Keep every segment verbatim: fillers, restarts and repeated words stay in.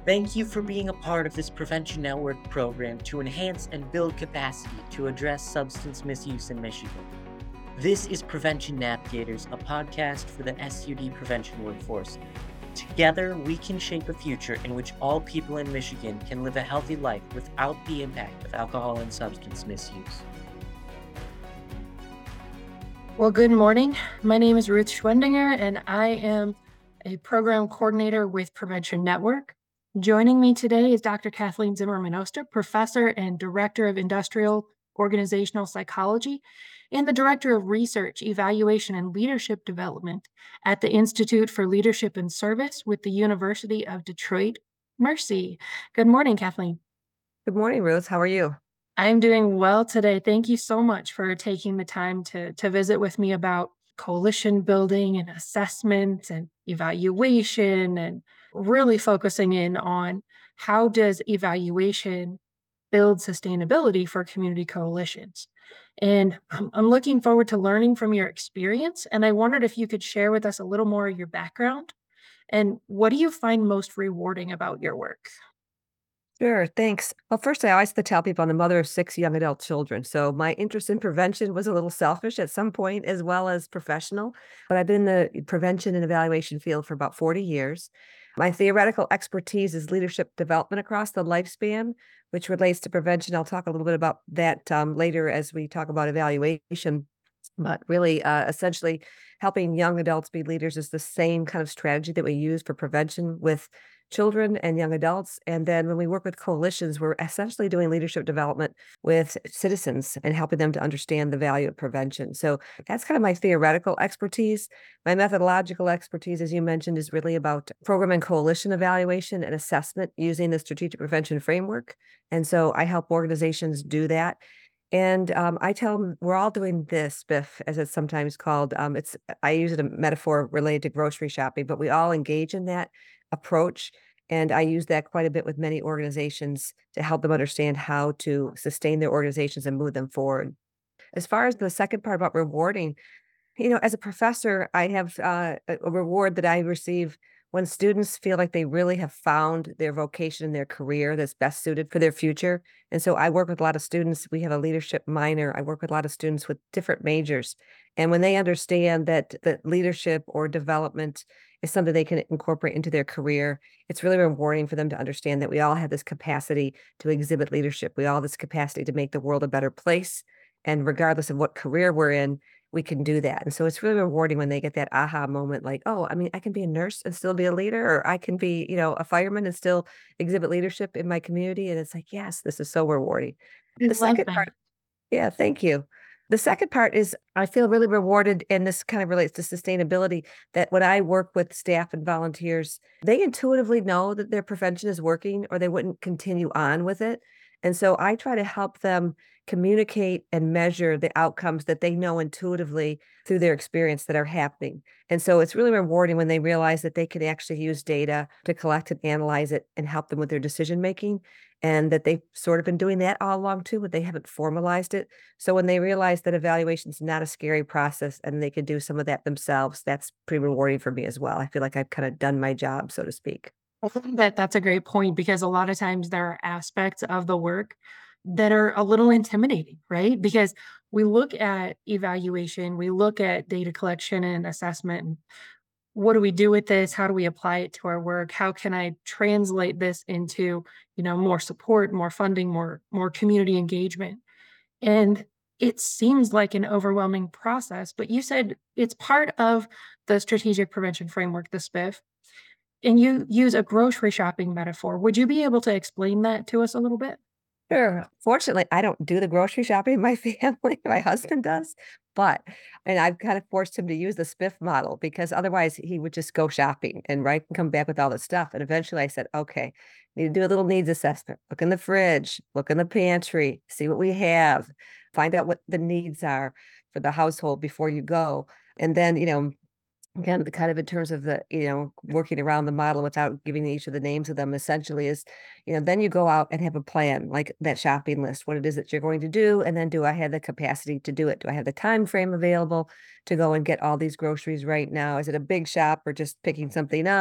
Thank you for being a part of this Prevention Network program to enhance and build capacity to address substance misuse in Michigan. This is Prevention Navigators, a podcast for the S U D prevention workforce. Together, we can shape a future in which all people in Michigan can live a healthy life without the impact of alcohol and substance misuse. Well, good morning. My name is Ruth Schwendinger, and I am a program coordinator with Prevention Network. Joining me today is Doctor Kathleen Zimmerman Oster, professor and director of industrial organizational psychology, and the director of research, evaluation, and leadership development at the Institute for Leadership and Service with the University of Detroit Mercy. Good morning, Kathleen. Good morning, Ruth. How are you? I'm doing well today. Thank you so much for taking the time to, to visit with me about coalition building and assessment and evaluation, and really focusing in on how does evaluation build sustainability for community coalitions. And I'm I'm looking forward to learning from your experience. And I wondered if you could share with us a little more of your background and what do you find most rewarding about your work? Sure, thanks. Well, first, I always have to tell people I'm the mother of six young adult children. So my interest in prevention was a little selfish at some point as well as professional. But I've been in the prevention and evaluation field for about forty years. My theoretical expertise is leadership development across the lifespan, which relates to prevention. I'll talk a little bit about that um, later as we talk about evaluation. But really, uh, essentially, helping young adults be leaders is the same kind of strategy that we use for prevention with children and young adults. And then when we work with coalitions, we're essentially doing leadership development with citizens and helping them to understand the value of prevention. So that's kind of my theoretical expertise. My methodological expertise, as you mentioned, is really about program and coalition evaluation and assessment using the strategic prevention framework. And so I help organizations do that. And um, I tell them we're all doing this, Biff, as it's sometimes called. Um, it's I use it a metaphor related to grocery shopping, but we all engage in that approach. And I use that quite a bit with many organizations to help them understand how to sustain their organizations and move them forward. As far as the second part about rewarding, you know, as a professor, I have uh, a a reward that I receive when students feel like they really have found their vocation in their career that's best suited for their future. And so I work with a lot of students. We have a leadership minor. I work with a lot of students with different majors. And when they understand that that leadership or development is something they can incorporate into their career, it's really rewarding for them to understand that we all have this capacity to exhibit leadership. We all have this capacity to make the world a better place. And regardless of what career we're in, we can do that. And so it's really rewarding when they get that aha moment, like, oh, I mean, I can be a nurse and still be a leader, or I can be, you know, a fireman and still exhibit leadership in my community. And it's like, yes, this is so rewarding. I The love second that. part, yeah, thank you. The second part is I feel really rewarded, and this kind of relates to sustainability, that when I work with staff and volunteers, they intuitively know that their prevention is working or they wouldn't continue on with it. And so I try to help them communicate and measure the outcomes that they know intuitively through their experience that are happening. And so it's really rewarding when they realize that they can actually use data to collect and analyze it and help them with their decision making, and that they've sort of been doing that all along too, but they haven't formalized it. So when they realize that evaluation is not a scary process and they can do some of that themselves, that's pretty rewarding for me as well. I feel like I've kind of done my job, so to speak. I think that that's a great point because a lot of times there are aspects of the work that are a little intimidating, right? Because we look at evaluation, we look at data collection and assessment. And what do we do with this? How do we apply it to our work? How can I translate this into, you know, more support, more funding, more more community engagement? And it seems like an overwhelming process, but you said it's part of the strategic prevention framework, the SPIF, and you use a grocery shopping metaphor. Would you be able to explain that to us a little bit? Sure. Fortunately, I don't do the grocery shopping in my family. My husband does, but and I've kind of forced him to use the SPIF model because otherwise he would just go shopping and right and come back with all the stuff. And eventually I said, okay, need to do a little needs assessment. Look in the fridge, look in the pantry, see what we have, find out what the needs are for the household before you go. And then, you know, again, the kind of in terms of the, you know, working around the model without giving each of the names of them essentially is, you know, then you go out and have a plan, like that shopping list, what it is that you're going to do. And then do I have the capacity to do it? Do I have the time frame available to go and get all these groceries right now? Is it a big shop or just picking something up?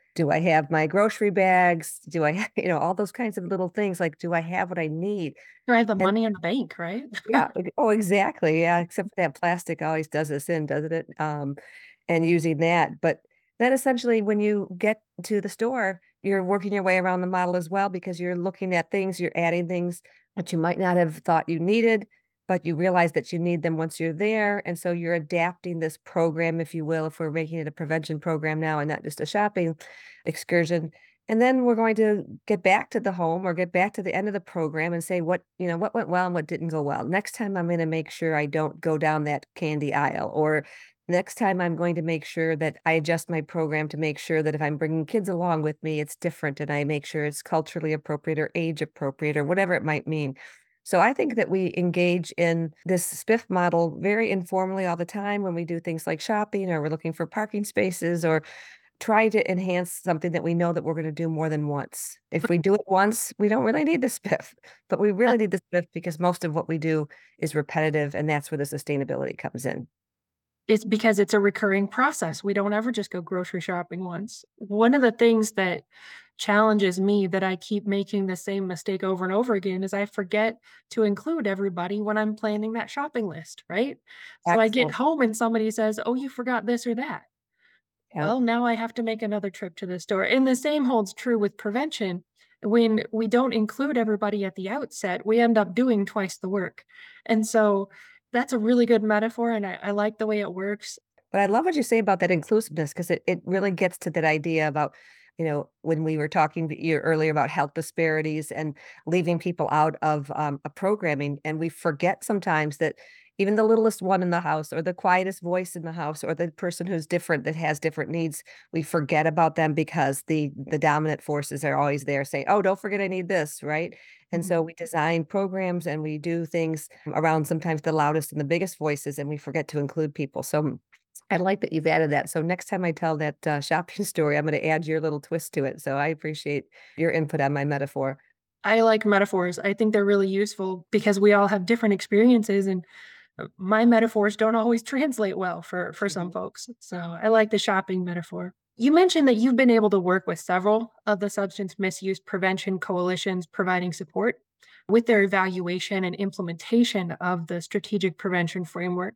Do I have my grocery bags? Do I, ha- you know, all those kinds of little things like, do I have what I need? Do I have the And money in the bank, right? yeah, ex- oh, exactly. Yeah, except that plastic always does this in, doesn't it? Um, and using that. But then essentially, when you get to the store, you're working your way around the model as well because you're looking at things, you're adding things that you might not have thought you needed, but you realize that you need them once you're there. And so you're adapting this program, if you will, if we're making it a prevention program now and not just a shopping excursion. And then we're going to get back to the home or get back to the end of the program and say what, you know, what went well and what didn't go well. Next time I'm going to make sure I don't go down that candy aisle, or next time I'm going to make sure that I adjust my program to make sure that if I'm bringing kids along with me, it's different and I make sure it's culturally appropriate or age appropriate or whatever it might mean. So I think that we engage in this spiff model very informally all the time when we do things like shopping or we're looking for parking spaces or try to enhance something that we know that we're gonna do more than once. If we do it once, we don't really need the spiff, but we really need the spiff because most of what we do is repetitive, and that's where the sustainability comes in. It's because it's a recurring process. We don't ever just go grocery shopping once. One of the things that challenges me that I keep making the same mistake over and over again is I forget to include everybody when I'm planning that shopping list, right? So I get Excellent. home and somebody says, "Oh, you forgot this or that." Yeah. Well, now I have to make another trip to the store. And the same holds true with prevention. When we don't include everybody at the outset, we end up doing twice the work. And so that's a really good metaphor. And I, I like the way it works. But I love what you say about that inclusiveness because it it really gets to that idea about, you know, when we were talking to you earlier about health disparities and leaving people out of um, a programming, and we forget sometimes that even the littlest one in the house, or the quietest voice in the house, or the person who's different that has different needs, we forget about them because the the dominant forces are always there saying, "Oh, don't forget I need this," right? And Mhm. so we design programs and we do things around sometimes the loudest and the biggest voices, and we forget to include people. So I like that you've added that. So next time I tell that uh, shopping story, I'm going to add your little twist to it. So I appreciate your input on my metaphor. I like metaphors. I think they're really useful because we all have different experiences and uh, my metaphors don't always translate well for for some Mhm. folks. So I like the shopping metaphor. You mentioned that you've been able to work with several of the substance misuse prevention coalitions providing support with their evaluation and implementation of the strategic prevention framework.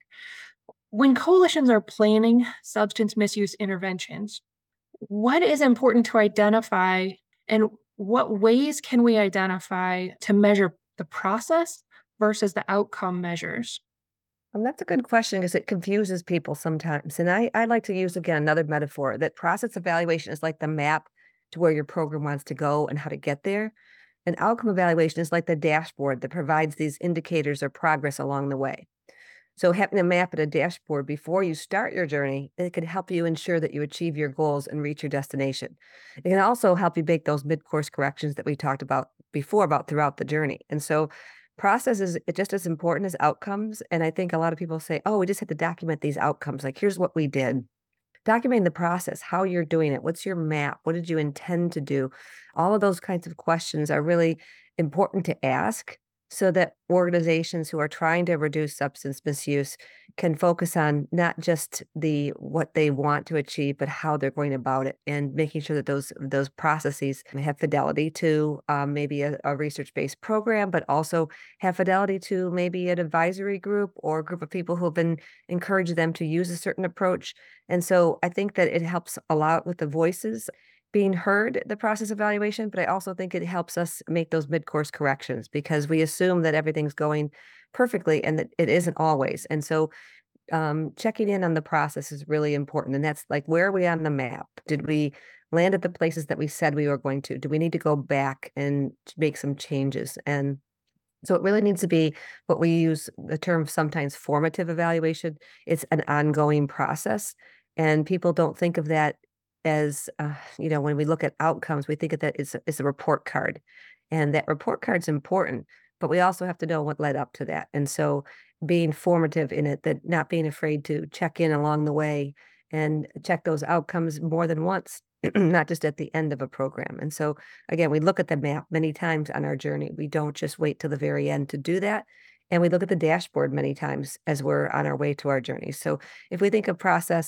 When coalitions are planning substance misuse interventions, what is important to identify and what ways can we identify to measure the process versus the outcome measures? And that's a good question because it confuses people sometimes. And I, I like to use again another metaphor that process evaluation is like the map to where your program wants to go and how to get there. And outcome evaluation is like the dashboard that provides these indicators of progress along the way. So having a map and a dashboard before you start your journey, it can help you ensure that you achieve your goals and reach your destination. It can also help you make those mid-course corrections that we talked about before about throughout the journey. And so process is just as important as outcomes. And I think a lot of people say, oh, we just have to document these outcomes. Like, here's what we did. Documenting the process, how you're doing it, what's your map, what did you intend to do? All of those kinds of questions are really important to ask so that organizations who are trying to reduce substance misuse can focus on not just the what they want to achieve, but how they're going about it and making sure that those those processes have fidelity to um, maybe a, a research-based program, but also have fidelity to maybe an advisory group or a group of people who have been encouraged them to use a certain approach. And so I think that it helps a lot with the voices being heard, the process evaluation, but I also think it helps us make those mid-course corrections because we assume that everything's going perfectly and that it isn't always. And so um, checking in on the process is really important. And that's like, where are we on the map? Did we land at the places that we said we were going to? Do we need to go back and make some changes? And so it really needs to be what we use the term sometimes formative evaluation. It's an ongoing process. And people don't think of that as, uh, you know, when we look at outcomes, we think of that as, as a report card. And that report card's important, but we also have to know what led up to that. And so being formative in it, that not being afraid to check in along the way and check those outcomes more than once, not just at the end of a program. And so again, we look at the map many times on our journey. We don't just wait till the very end to do that. And we look at the dashboard many times as we're on our way to our journey. So if we think of process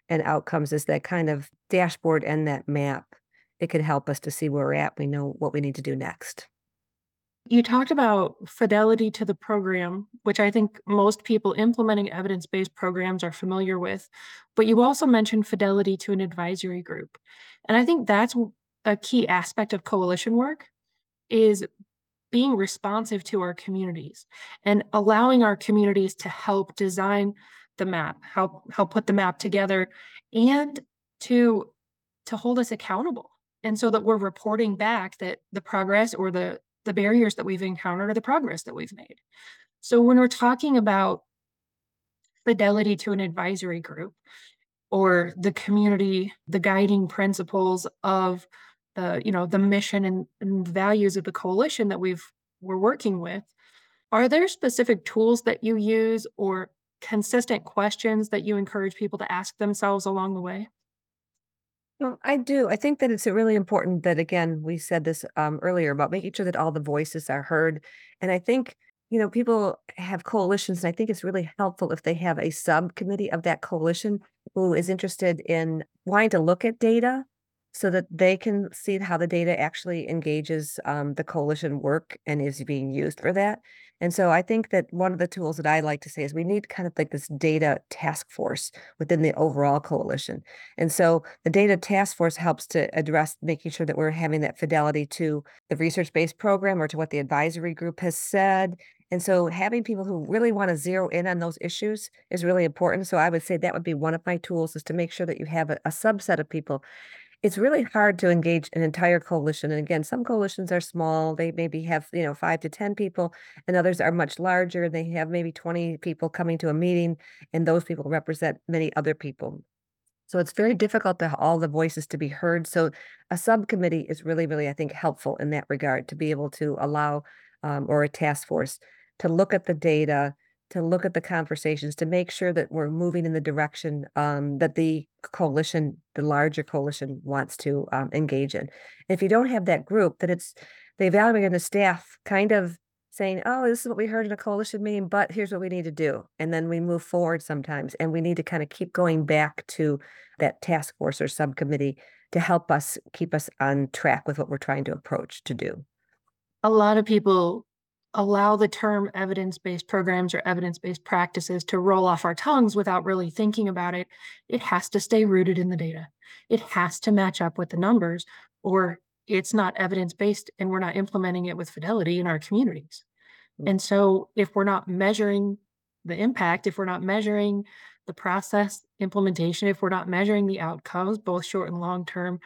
and outcomes is that kind of dashboard and that map. It could help us to see where we're at. We know what we need to do next. You talked about fidelity to the program, which I think most people implementing evidence based programs are familiar with. But you also mentioned fidelity to an advisory group. And I think that's w- a key aspect of coalition work is being responsive to our communities and allowing our communities to help design the map, help help put the map together, and to to hold us accountable. And so that we're reporting back that the progress or the the barriers that we've encountered or the progress that we've made. So when we're talking about fidelity to an advisory group or the community, the guiding principles of the, you know, the mission and, and values of the coalition that we've we're working with, are there specific tools that you use or consistent questions that you encourage people to ask themselves along the way? Well, I do. I think that it's really important that, again, we said this um, earlier about making sure that all the voices are heard. And I think, you know, people have coalitions, and I think it's really helpful if they have a subcommittee of that coalition who is interested in wanting to look at data so that they can see how the data actually engages um, the coalition work and is being used for that. And so I think that one of the tools that I like to say is we need kind of like this data task force within the overall coalition. And so the data task force helps to address making sure that we're having that fidelity to the research-based program or to what the advisory group has said. And so having people who really want to zero in on those issues is really important. So I would say that would be one of my tools is to make sure that you have a, a subset of people. It's really hard to engage an entire coalition. And again, some coalitions are small. They maybe have, you know, five to ten people, and others are much larger. They have maybe twenty people coming to a meeting, and those people represent many other people. So it's very difficult to all the voices to be heard. So a subcommittee is really, really, I think, helpful in that regard to be able to allow, um, or a task force to look at the data, to look at the conversations, to make sure that we're moving in the direction um, that the coalition, the larger coalition, wants to um, engage in. If you don't have that group, then it's the evaluator and the staff kind of saying, oh, this is what we heard in a coalition meeting, but here's what we need to do. And then we move forward sometimes. And we need to kind of keep going back to that task force or subcommittee to help us keep us on track with what we're trying to approach to do. A lot of people allow the term evidence-based programs or evidence-based practices to roll off our tongues without really thinking about it. It has to stay rooted in the data. It has to match up with the numbers, or it's not evidence-based and we're not implementing it with fidelity in our communities. Mm. And so if we're not measuring the impact, if we're not measuring the process implementation, if we're not measuring the outcomes, both short and long term,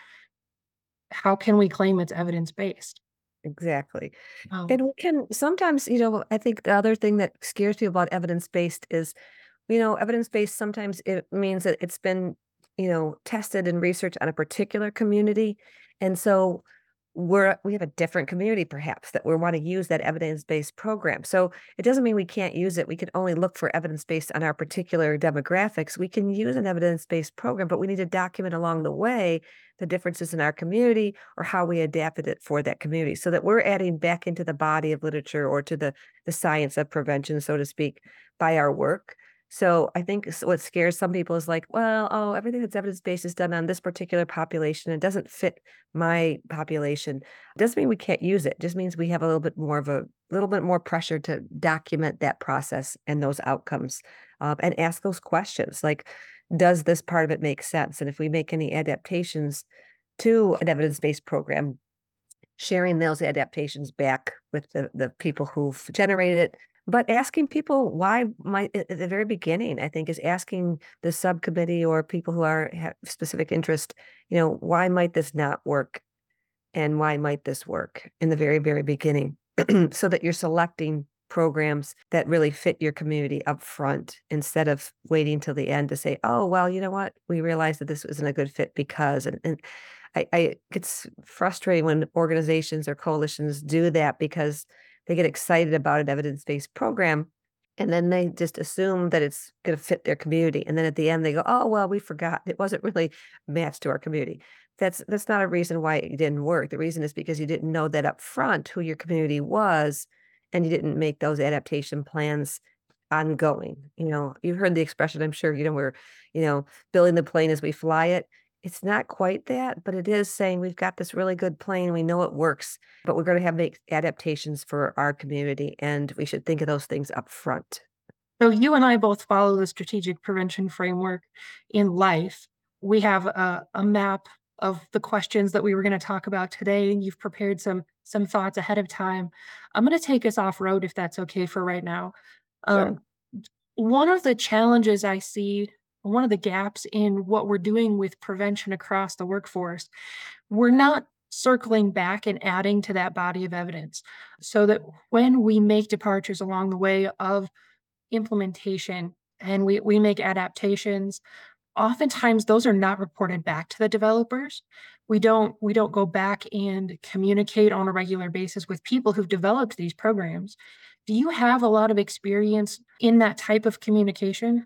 how can we claim it's evidence-based? Exactly. Um, And we can sometimes, you know, I think the other thing that scares people about evidence-based is, you know, evidence-based sometimes it means that it's been, you know, tested and researched on a particular community. And so we're we have a different community perhaps that we want to use that evidence-based program. So it doesn't mean we can't use it. We can only look for evidence-based on our particular demographics. We can use an evidence-based program, but we need to document along the way the differences in our community or how we adapted it for that community so that we're adding back into the body of literature or to the the science of prevention, so to speak, by our work. So I think s- what scares some people is like, well, oh, everything that's evidence-based is done on this particular population. It doesn't fit my population. Doesn't mean we can't use it. Just means we have a little bit more of a little bit more pressure to document that process and those outcomes, um, and ask those questions like, does this part of it make sense? And if we make any adaptations to an evidence-based program, sharing those adaptations back with the, the people who've generated it, but asking people why might at at the very beginning, I think, is asking the subcommittee or people who are have specific interest, you know, why might this not work and why might this work in the very, very beginning, so that you're selecting programs that really fit your community up front instead of waiting till the end to say, oh, well, you know what? We realized that this isn't a good fit because, and, and I, I it's frustrating when organizations or coalitions do that because they get excited about an evidence-based program and then they just assume that it's going to fit their community. And then at the end they go, oh, well, we forgot. It wasn't really matched to our community. That's that's not a reason why it didn't work. The reason is because you didn't know that up front who your community was and you didn't make those adaptation plans ongoing. You know, you've heard the expression, I'm sure, you know, we're, you know, building the plane as we fly it. It's not quite that, but it is saying we've got this really good plane. We know it works, but we're going to have make adaptations for our community, and we should think of those things up front. So you and I both follow the strategic prevention framework in life. We have a, a map of the questions that we were going to talk about today, and you've prepared some some thoughts ahead of time. I'm going to take us off road if that's okay for right now. Sure. Um, One of the challenges I see, one of the gaps in what we're doing with prevention across the workforce, we're not circling back and adding to that body of evidence so that when we make departures along the way of implementation and we, we make adaptations, oftentimes those are not reported back to the developers. We don't we don't go back and communicate on a regular basis with people who've developed these programs. Do you have a lot of experience in that type of communication?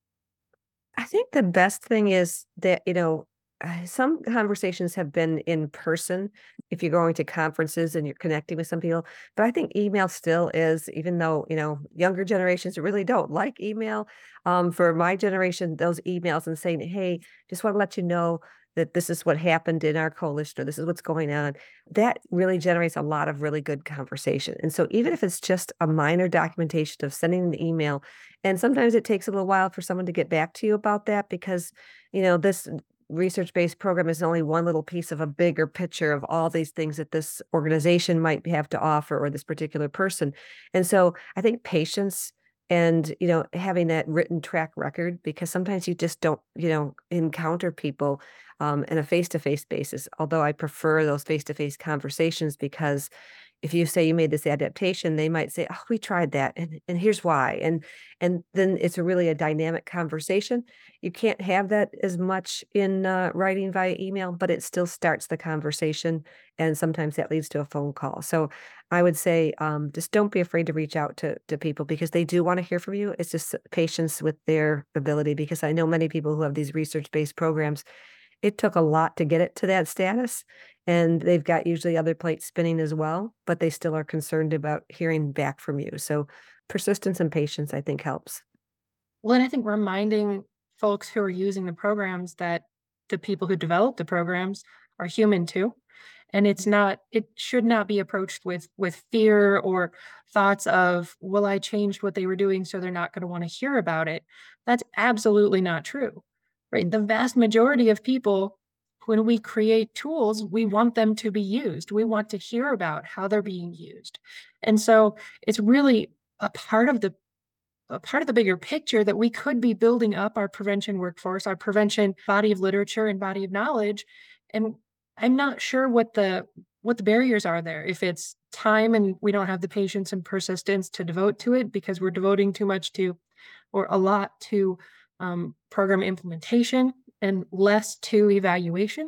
I think the best thing is that, you know, uh, some conversations have been in person if you're going to conferences and you're connecting with some people. But I think email still is, even though, you know, younger generations really don't like email. Um, for my generation, those emails and saying, hey, just want to let you know that this is what happened in our coalition or this is what's going on, that really generates a lot of really good conversation. And so even if it's just a minor documentation of sending an email, and sometimes it takes a little while for someone to get back to you about that because, you know, this research-based program is only one little piece of a bigger picture of all these things that this organization might have to offer or this particular person. And so I think patience and, you know, having that written track record, because sometimes you just don't, you know, encounter people um, in a face-to-face basis. Although I prefer those face-to-face conversations because if you say you made this adaptation, they might say, "Oh, we tried that, and and here's why." And and then it's a really a dynamic conversation. You can't have that as much in uh, writing via email, but it still starts the conversation, and sometimes that leads to a phone call. So I would say, um, just don't be afraid to reach out to to people because they do want to hear from you. It's just patience with their ability because I know many people who have these research-based programs, it took a lot to get it to that status, and they've got usually other plates spinning as well, but they still are concerned about hearing back from you. So persistence and patience, I think, helps. Well, and I think reminding folks who are using the programs that the people who develop the programs are human too. And it's not, it should not be approached with with fear or thoughts of, well, I changed what they were doing, so they're not going to want to hear about it. That's absolutely not true. Right. The vast majority of people, when we create tools, we want them to be used. We want to hear about how they're being used. And so it's really a part of the a part of the bigger picture that we could be building up our prevention workforce, our prevention body of literature and body of knowledge. And I'm not sure what the what the barriers are there. If it's time and we don't have the patience and persistence to devote to it because we're devoting too much to or a lot to um, program implementation and less to evaluation.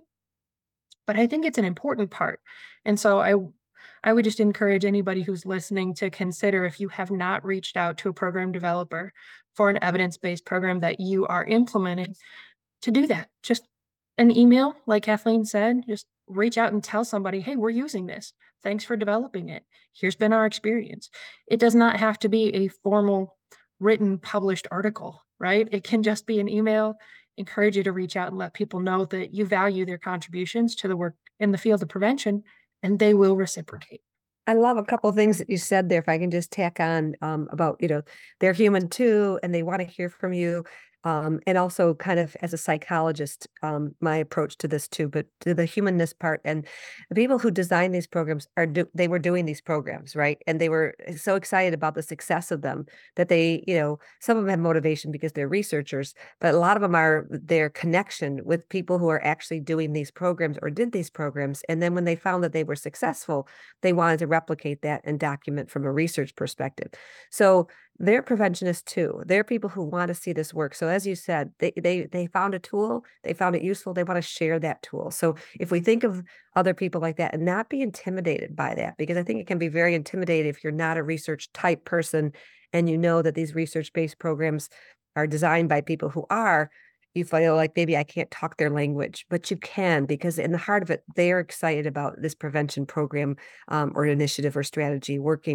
But I think it's an important part. And so I I would just encourage anybody who's listening to consider if you have not reached out to a program developer for an evidence-based program that you are implementing to do that. Just an email, like Kathleen said, just reach out and tell somebody, hey, we're using this. Thanks for developing it. Here's been our experience. It does not have to be a formal, written, published article, right? It can just be an email. Encourage you to reach out and let people know that you value their contributions to the work in the field of prevention, and they will reciprocate. I love a couple of things that you said there. If I can just tack on um, about, you know, they're human too, and they want to hear from you. Um, and also kind of as a psychologist, um, my approach to this too, but to the humanness part and the people who design these programs are do they were doing these programs, right? And they were so excited about the success of them that they, you know, some of them have motivation because they're researchers, but a lot of them are their connection with people who are actually doing these programs or did these programs. And then when they found that they were successful, they wanted to replicate that and document from a research perspective. So they're preventionists too. They're people who want to see this work. So as you said, they they they found a tool, they found it useful, they want to share that tool. So if we think of other people like that and not be intimidated by that, because I think it can be very intimidating if you're not a research type person and you know that these research-based programs are designed by people who are, you feel like maybe I can't talk their language, but you can because in the heart of it, they're excited about this prevention program um, or initiative or strategy working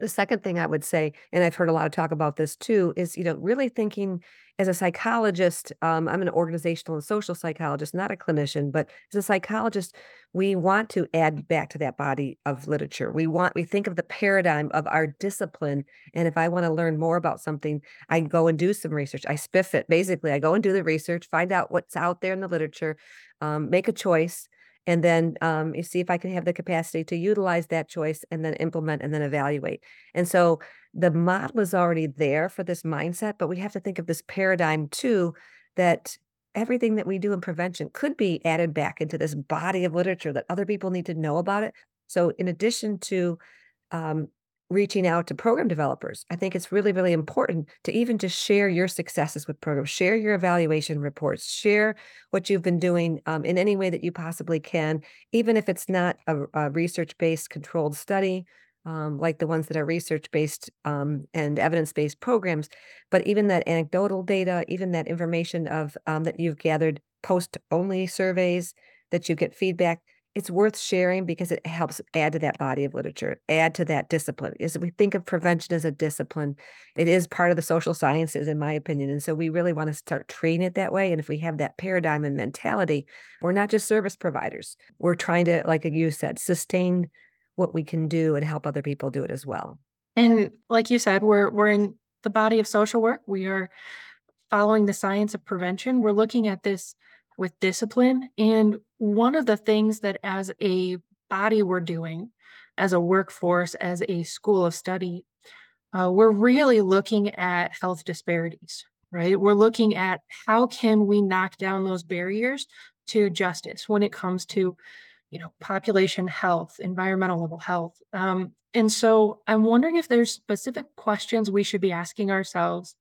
The second thing I would say, and I've heard a lot of talk about this too, is, you know, really thinking as a psychologist, um, I'm an organizational and social psychologist, not a clinician, but as a psychologist, we want to add back to that body of literature. We want, we think of the paradigm of our discipline. And if I want to learn more about something, I go and do some research. I spiff it. Basically, I go and do the research, find out what's out there in the literature, um, make a choice, and then um, you see if I can have the capacity to utilize that choice and then implement and then evaluate. And so the model is already there for this mindset, but we have to think of this paradigm too, that everything that we do in prevention could be added back into this body of literature that other people need to know about it. So in addition to um, reaching out to program developers, I think it's really, really important to even just share your successes with programs, share your evaluation reports, share what you've been doing um, in any way that you possibly can, even if it's not a, a research-based controlled study, um, like the ones that are research-based um, and evidence-based programs, but even that anecdotal data, even that information of um, that you've gathered post-only surveys, that you get feedback, it's worth sharing because it helps add to that body of literature, add to that discipline. Is we think of prevention as a discipline. It is part of the social sciences, in my opinion. And so we really want to start treating it that way. And if we have that paradigm and mentality, we're not just service providers. We're trying to, like you said, sustain what we can do and help other people do it as well. And like you said, we're we're in the body of social work. We are following the science of prevention. We're looking at this with discipline. And one of the things that as a body we're doing, as a workforce, as a school of study, uh, we're really looking at health disparities, right? We're looking at how can we knock down those barriers to justice when it comes to, you know, population health, environmental level health. Um, and so I'm wondering if there's specific questions we should be asking ourselves,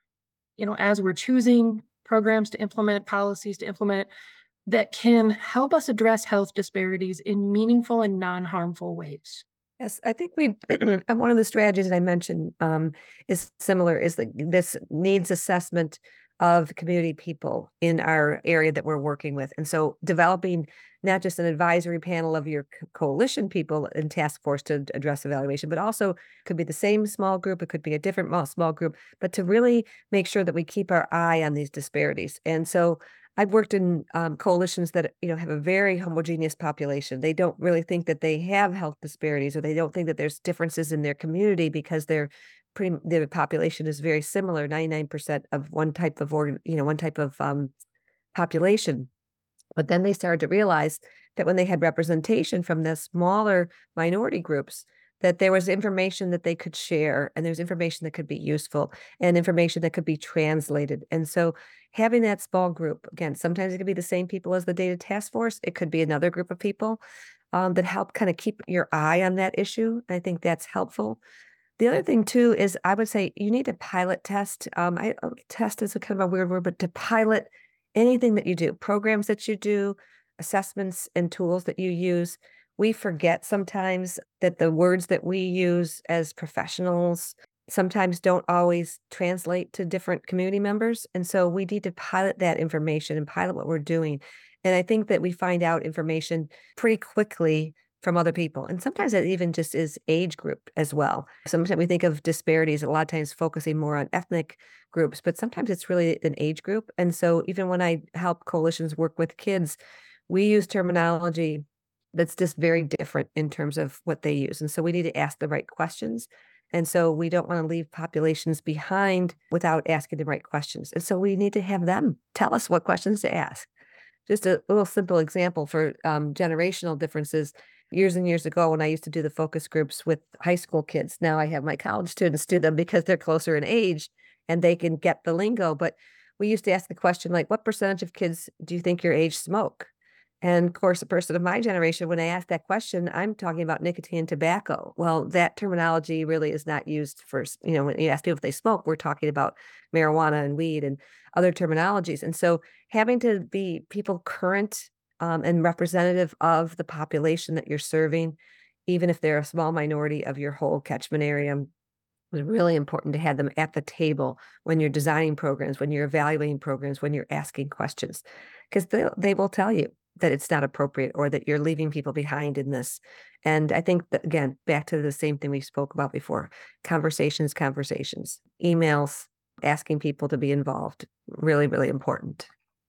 you know, as we're choosing programs to implement, policies to implement, that can help us address health disparities in meaningful and non-harmful ways. Yes, I think we and one of the strategies that I mentioned um, is similar, is the, this needs assessment of community people in our area that we're working with. And so developing not just an advisory panel of your co- coalition people and task force to address evaluation, but also could be the same small group, it could be a different mo- small group, but to really make sure that we keep our eye on these disparities. And so I've worked in um, coalitions that, you know, have a very homogeneous population. They don't really think that they have health disparities, or they don't think that there's differences in their community because they're pretty, their population is very similar, ninety-nine percent of one type of organ, you know, one type of um, population. But then they started to realize that when they had representation from the smaller minority groups, that there was information that they could share, and there's information that could be useful, and information that could be translated. And so having that small group, again, sometimes it could be the same people as the data task force. It could be another group of people um, that help kind of keep your eye on that issue. I think that's helpful. The other thing too is I would say you need to pilot test. Um, I uh, test is a kind of a weird word, but to pilot anything that you do, programs that you do, assessments and tools that you use. We forget sometimes that the words that we use as professionals sometimes don't always translate to different community members. And so we need to pilot that information and pilot what we're doing. And I think that we find out information pretty quickly from other people. And sometimes it even just is age group as well. Sometimes we think of disparities a lot of times focusing more on ethnic groups, but sometimes it's really an age group. And so even when I help coalitions work with kids, we use terminology that's just very different in terms of what they use. And so we need to ask the right questions. And so we don't want to leave populations behind without asking the right questions. And so we need to have them tell us what questions to ask. Just a little simple example for um, generational differences. Years and years ago, when I used to do the focus groups with high school kids, now I have my college students do them because they're closer in age and they can get the lingo. But we used to ask the question, like, what percentage of kids do you think your age smoke? And of course, a person of my generation, when I ask that question, I'm talking about nicotine and tobacco. Well, that terminology really is not used for, you know, when you ask people if they smoke, we're talking about marijuana and weed and other terminologies. And so having to be people current um, and representative of the population that you're serving, even if they're a small minority of your whole catchment area, it's really important to have them at the table when you're designing programs, when you're evaluating programs, when you're asking questions, because they they will tell you that it's not appropriate or that you're leaving people behind in this. And I think that, again, back to the same thing we spoke about before, conversations, conversations, emails, asking people to be involved, really, really important.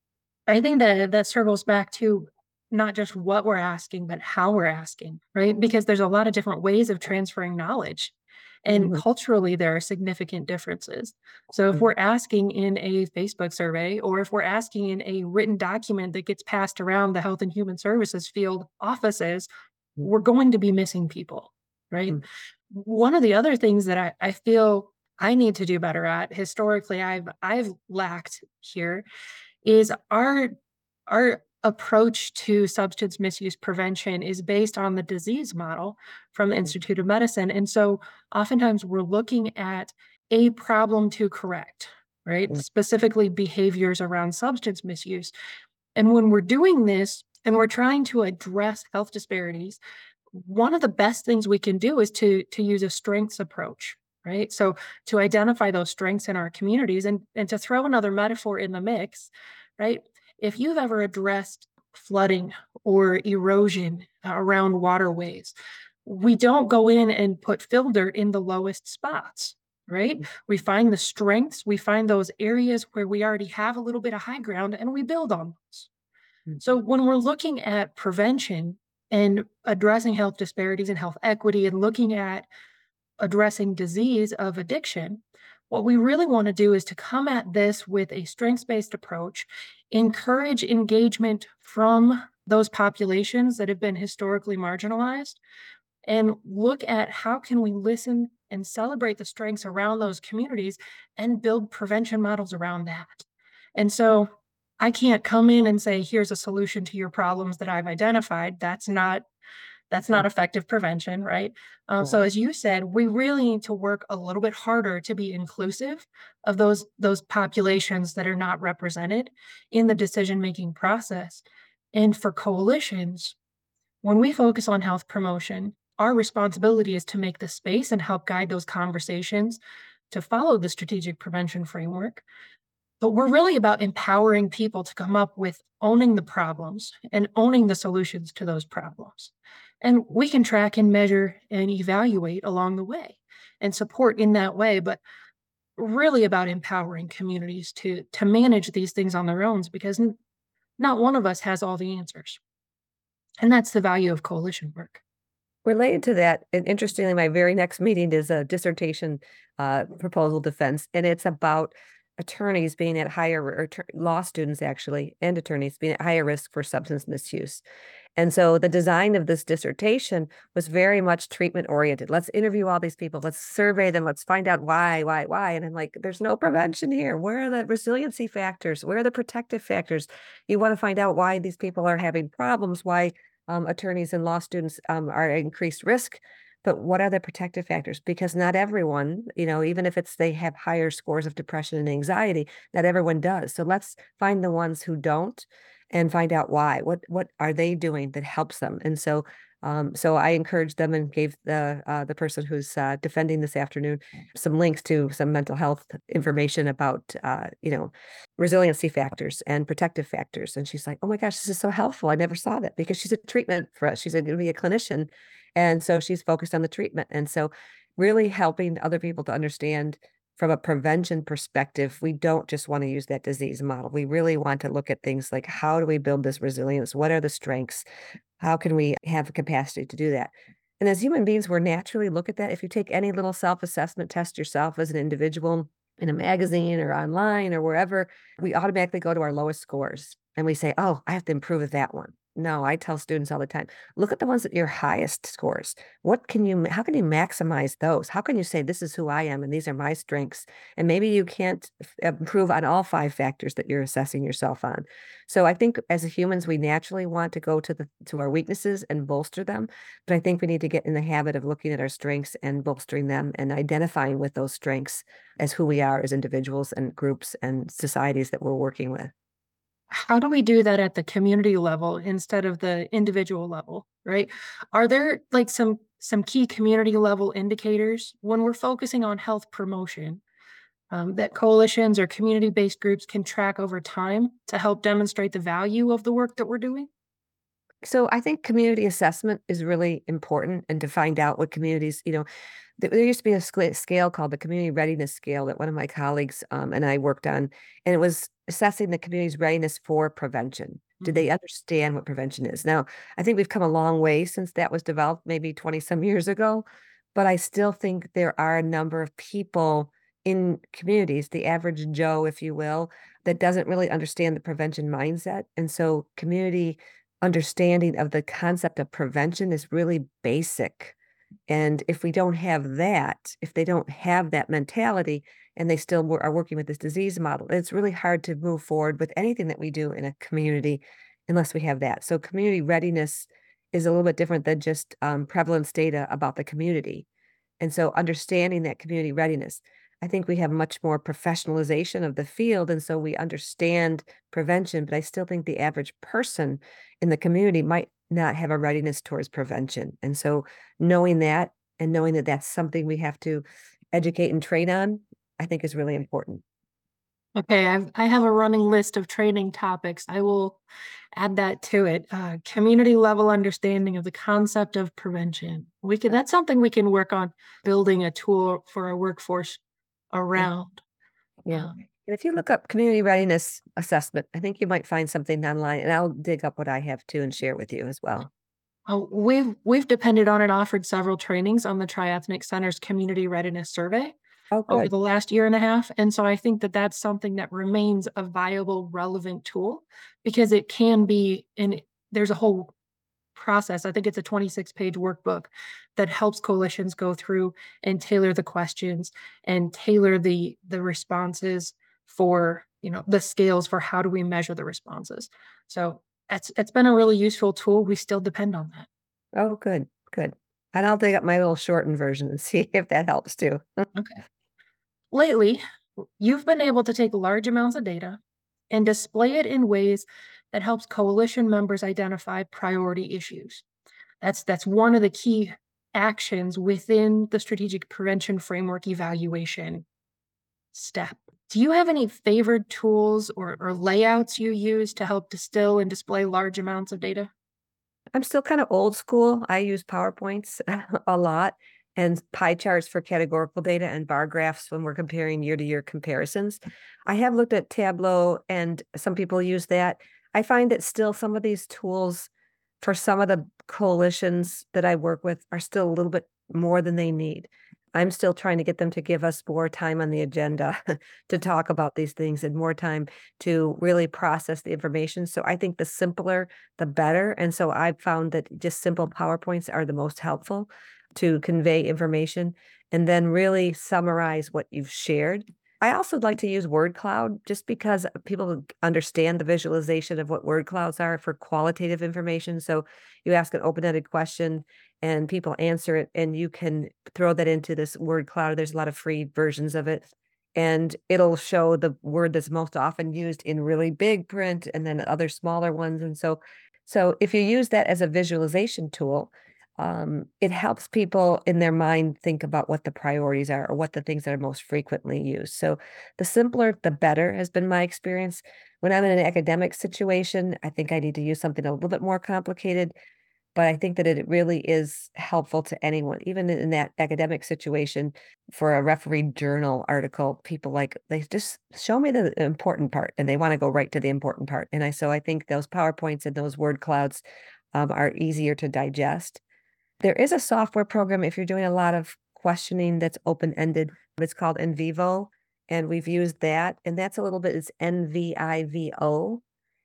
I think that that circles back to not just what we're asking, but how we're asking, right? Because there's a lot of different ways of transferring knowledge. And Mhm, culturally, there are significant differences. So if mhm, we're asking in a Facebook survey, or if we're asking in a written document that gets passed around the Health and Human Services field offices, mhm, we're going to be missing people, right? mhm, One of the other things that I, I feel I need to do better at historically, I've I've lacked here is our our approach to substance misuse prevention is based on the disease model from the mhm, Institute of Medicine. And so oftentimes we're looking at a problem to correct, right? mhm, Specifically behaviors around substance misuse. And when we're doing this and we're trying to address health disparities, one of the best things we can do is to to use a strengths approach, right? So to identify those strengths in our communities, and and to throw another metaphor in the mix, right? If you've ever addressed flooding or erosion around waterways, we don't go in and put fill dirt in the lowest spots, right? We find the strengths, we find those areas where we already have a little bit of high ground, and we build on those. mhm, So when we're looking at prevention and addressing health disparities and health equity and looking at addressing disease of addiction, what we really want to do is to come at this with a strengths-based approach, encourage engagement from those populations that have been historically marginalized, and look at how can we listen and celebrate the strengths around those communities and build prevention models around that. And so I can't come in and say, here's a solution to your problems that I've identified. That's not that's mhm, not effective prevention, right? Uh, yeah, so as you said, we really need to work a little bit harder to be inclusive of those those populations that are not represented in the decision making process. And for coalitions, when we focus on health promotion, our responsibility is to make the space and help guide those conversations to follow the strategic prevention framework. But we're really about empowering people to come up with owning the problems and owning the solutions to those problems. And we can track and measure and evaluate along the way and support in that way, but really about empowering communities to to manage these things on their own because n- not one of us has all the answers. And that's the value of coalition work. Related to that, and interestingly, my very next meeting is a dissertation uh, proposal defense, and it's about attorneys being at higher, or attor- law students actually, and attorneys being at higher risk for substance misuse. And so the design of this dissertation was very much treatment oriented. Let's interview all these people. Let's survey them. Let's find out why, why, why. And I'm like, there's no prevention here. Where are the resiliency factors? Where are the protective factors? You want to find out why these people are having problems, why um, attorneys and law students um, are at increased risk. But what are the protective factors? Because not everyone, you know, even if it's they have higher scores of depression and anxiety, not everyone does. So let's find the ones who don't and find out why. What what are they doing that helps them? And so um, so I encouraged them and gave the uh, the person who's uh, defending this afternoon some links to some mental health information about uh, you know resiliency factors and protective factors. And she's like, "Oh my gosh, this is so helpful! I never saw that," because she's a treatment for us. She's going to be a clinician, and so she's focused on the treatment. And so really helping other people to understand from a prevention perspective, we don't just want to use that disease model. We really want to look at things like how do we build this resilience? What are the strengths? How can we have the capacity to do that? And as human beings, we're naturally look at that. If you take any little self-assessment test yourself as an individual in a magazine or online or wherever, we automatically go to our lowest scores and we say, oh, I have to improve at that one. No, I tell students all the time, look at the ones that your highest scores. What can you, how can you maximize those? How can you say, this is who I am and these are my strengths? And maybe you can't f- improve on all five factors that you're assessing yourself on. So I think as humans, we naturally want to go to the to our weaknesses and bolster them. But I think we need to get in the habit of looking at our strengths and bolstering them and identifying with those strengths as who we are as individuals and groups and societies that we're working with. How do we do that at the community level instead of the individual level, right? Are there like some some key community level indicators when we're focusing on health promotion um, that coalitions or community based groups can track over time to help demonstrate the value of the work that we're doing? So I think community assessment is really important, and to find out what communities, you know, th- there used to be a scale scale called the community readiness scale that one of my colleagues um, and I worked on, and it was assessing the community's readiness for prevention. Do Mm. they understand what prevention is? Now, I think we've come a long way since that was developed, maybe twenty some years ago, but I still think there are a number of people in communities, the average Joe, if you will, that doesn't really understand the prevention mindset. And so community understanding of the concept of prevention is really basic. And if we don't have that, if they don't have that mentality and they still wo- are working with this disease model, it's really hard to move forward with anything that we do in a community unless we have that. So community readiness is a little bit different than just um, prevalence data about the community. And so understanding that community readiness, I think we have much more professionalization of the field. And so we understand prevention, but I still think the average person in the community might not have a readiness towards prevention. And so knowing that and knowing that that's something we have to educate and train on, I think is really important. Okay, I've, I have a running list of training topics. I will add that to it. Uh, community level understanding of the concept of prevention. We can, that's something we can work on building a tool for our workforce Yeah. around. Yeah. Um, And if you look up community readiness assessment, I think you might find something online, and I'll dig up what I have too and share with you as well. oh, we've we've depended on and offered several trainings on the Triethnic Center's Community Readiness Survey Oh, over good. the last year and a half. And so I think that that's something that remains a viable, relevant tool because it can be, and there's a whole process. I think it's a twenty-six page workbook that helps coalitions go through and tailor the questions and tailor the the responses for, you know, the scales for how do we measure the responses. So it's it's been a really useful tool. We still depend on that. Oh, good. Good. And I'll dig up my little shortened version and see if that helps too. Okay. Lately, you've been able to take large amounts of data and display it in ways that helps coalition members identify priority issues. That's that's one of the key actions within the strategic prevention framework evaluation step. Do you have any favored tools or, or layouts you use to help distill and display large amounts of data? I'm still kind of old school. I use PowerPoints a lot and pie charts for categorical data and bar graphs when we're comparing year to year comparisons. I have looked at Tableau and some people use that. I find that still some of these tools for some of the coalitions that I work with are still a little bit more than they need. I'm still trying to get them to give us more time on the agenda to talk about these things and more time to really process the information. So I think the simpler, the better. And so I've found that just simple PowerPoints are the most helpful to convey information and then really summarize what you've shared. I also like to use word cloud just because people understand the visualization of what word clouds are for qualitative information. So you ask an open-ended question and people answer it, and you can throw that into this word cloud. There's a lot of free versions of it. And it'll show the word that's most often used in really big print and then other smaller ones. And so, so if you use that as a visualization tool, um, it helps people in their mind think about what the priorities are or what the things that are most frequently used. So the simpler, the better has been my experience. When I'm in an academic situation, I think I need to use something a little bit more complicated, but I think that it really is helpful to anyone, even in that academic situation. For a referee journal article, people like, they just show me the important part and they want to go right to the important part. And I, so I think those PowerPoints and those word clouds um, are easier to digest. There is a software program if you're doing a lot of questioning that's open-ended. It's called NVivo, and we've used that. And that's a little bit, it's N V I V O.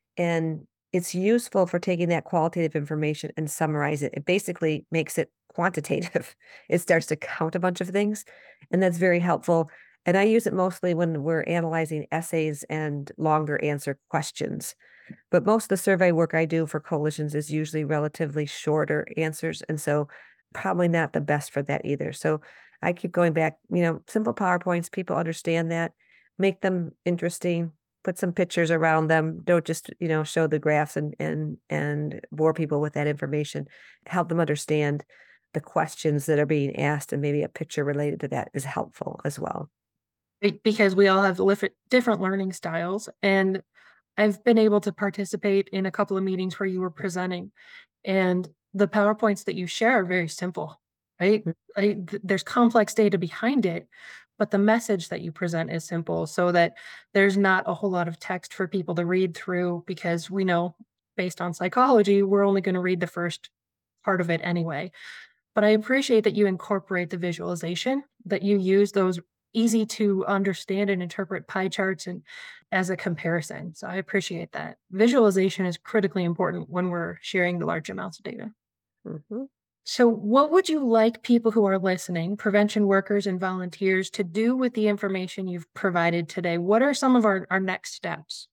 And it's useful for taking that qualitative information and summarize it. It basically makes it quantitative. It starts to count a bunch of things, and that's very helpful. And I use it mostly when we're analyzing essays and longer answer questions. But most of the survey work I do for coalitions is usually relatively shorter answers. And so probably not the best for that either. So I keep going back, you know, simple PowerPoints, people understand that, make them interesting, put some pictures around them. Don't just, you know, show the graphs and and and bore people with that information. Help them understand the questions that are being asked, and maybe a picture related to that is helpful as well. Be- Because we all have lif- different learning styles. And I've been able to participate in a couple of meetings where you were presenting. And the PowerPoints that you share are very simple, right? Mm. I, th- there's complex data behind it, but the message that you present is simple so that there's not a whole lot of text for people to read through because we know based on psychology, we're only going to read the first part of it anyway. But I appreciate that you incorporate the visualization, that you use those easy to understand and interpret pie charts and as a comparison. So I appreciate that. Visualization is critically important when we're sharing the large amounts of data. Mhm. So, what would you like people who are listening, prevention workers and volunteers, to do with the information you've provided today? What are some of our, our next steps?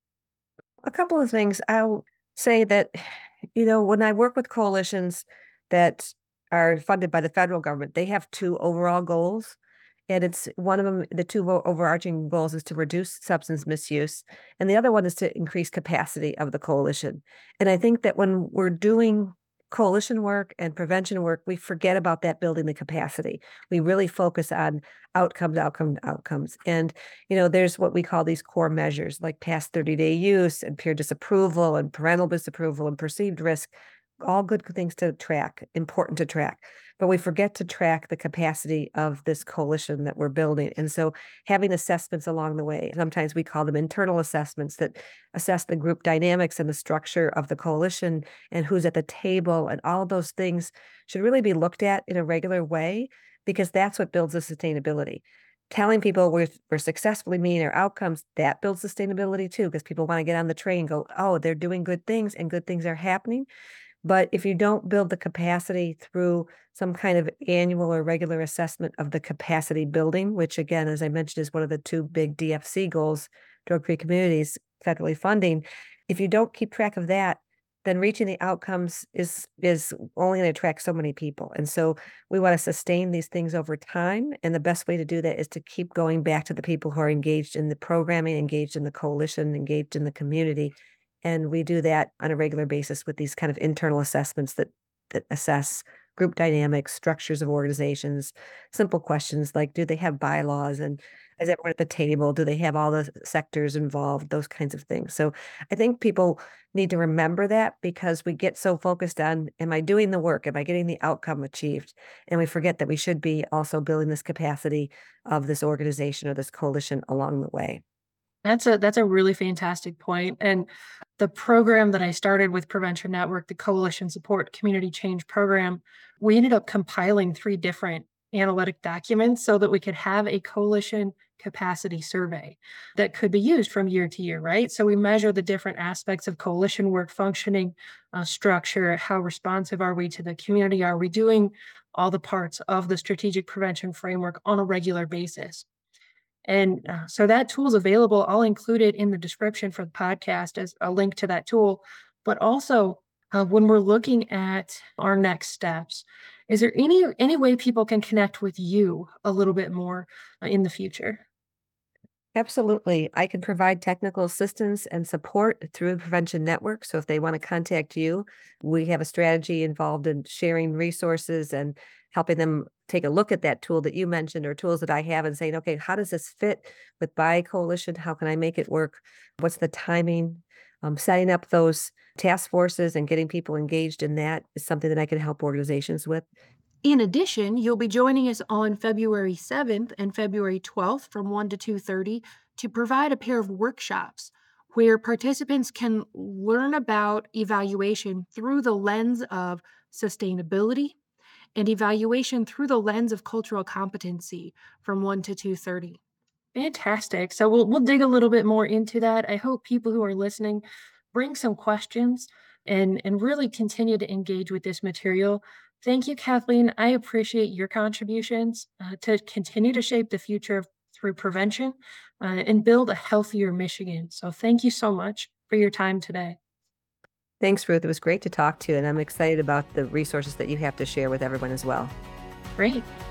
A couple of things. I'll say that, you know, when I work with coalitions that are funded by the federal government, they have two overall goals. And it's one of them, the two o- overarching goals is to reduce substance misuse, and the other one is to increase capacity of the coalition. And I think that when we're doing coalition work and prevention work, we forget about that building the capacity. We really focus on outcomes, outcomes, outcomes. And, you know, there's what we call these core measures like past thirty day use and peer disapproval and parental disapproval and perceived risk, all good things to track, important to track. But we forget to track the capacity of this coalition that we're building. And so having assessments along the way, sometimes we call them internal assessments that assess the group dynamics and the structure of the coalition and who's at the table, and all of those things should really be looked at in a regular way because that's what builds the sustainability. Telling people we're, we're successfully meeting our outcomes, that builds sustainability too, because people want to get on the train and go, oh, they're doing good things and good things are happening. But if you don't build the capacity through some kind of annual or regular assessment of the capacity building, which again, as I mentioned, is one of the two big D F C goals, drug-free communities, federally funding. If you don't keep track of that, then reaching the outcomes is is only going to attract so many people. And so we want to sustain these things over time. And the best way to do that is to keep going back to the people who are engaged in the programming, engaged in the coalition, engaged in the community. And we do that on a regular basis with these kind of internal assessments that that assess group dynamics, structures of organizations, simple questions like, do they have bylaws and is everyone at the table? Do they have all the sectors involved? Those kinds of things. So I think people need to remember that because we get so focused on, am I doing the work? Am I getting the outcome achieved? And we forget that we should be also building this capacity of this organization or this coalition along the way. That's a that's a really fantastic point. And the program that I started with Prevention Network, the Coalition Support Community Change Program, we ended up compiling three different analytic documents so that we could have a coalition capacity survey that could be used from year to year, right? So we measure the different aspects of coalition work functioning, uh, structure, how responsive are we to the community? Are we doing all the parts of the strategic prevention framework on a regular basis? And uh, so that tool is available. I'll include it in the description for the podcast as a link to that tool. But also, uh, when we're looking at our next steps, is there any any way people can connect with you a little bit more uh, in the future? Absolutely. I can provide technical assistance and support through the Prevention Network. So if they want to contact you, we have a strategy involved in sharing resources and helping them take a look at that tool that you mentioned or tools that I have and saying, okay, how does this fit with Buy Coalition? How can I make it work? What's the timing? Um, setting up those task forces and getting people engaged in that is something that I can help organizations with. In addition, you'll be joining us on February seventh and February twelfth from one to two thirty to provide a pair of workshops where participants can learn about evaluation through the lens of sustainability and evaluation through the lens of cultural competency from one to two thirty. Fantastic. So we'll we'll dig a little bit more into that. I hope people who are listening bring some questions and and really continue to engage with this material. Thank you, Kathleen. I appreciate your contributions uh, to continue to shape the future of- through prevention uh, and build a healthier Michigan. So thank you so much for your time today. Thanks, Ruth. It was great to talk to you, and I'm excited about the resources that you have to share with everyone as well. Great.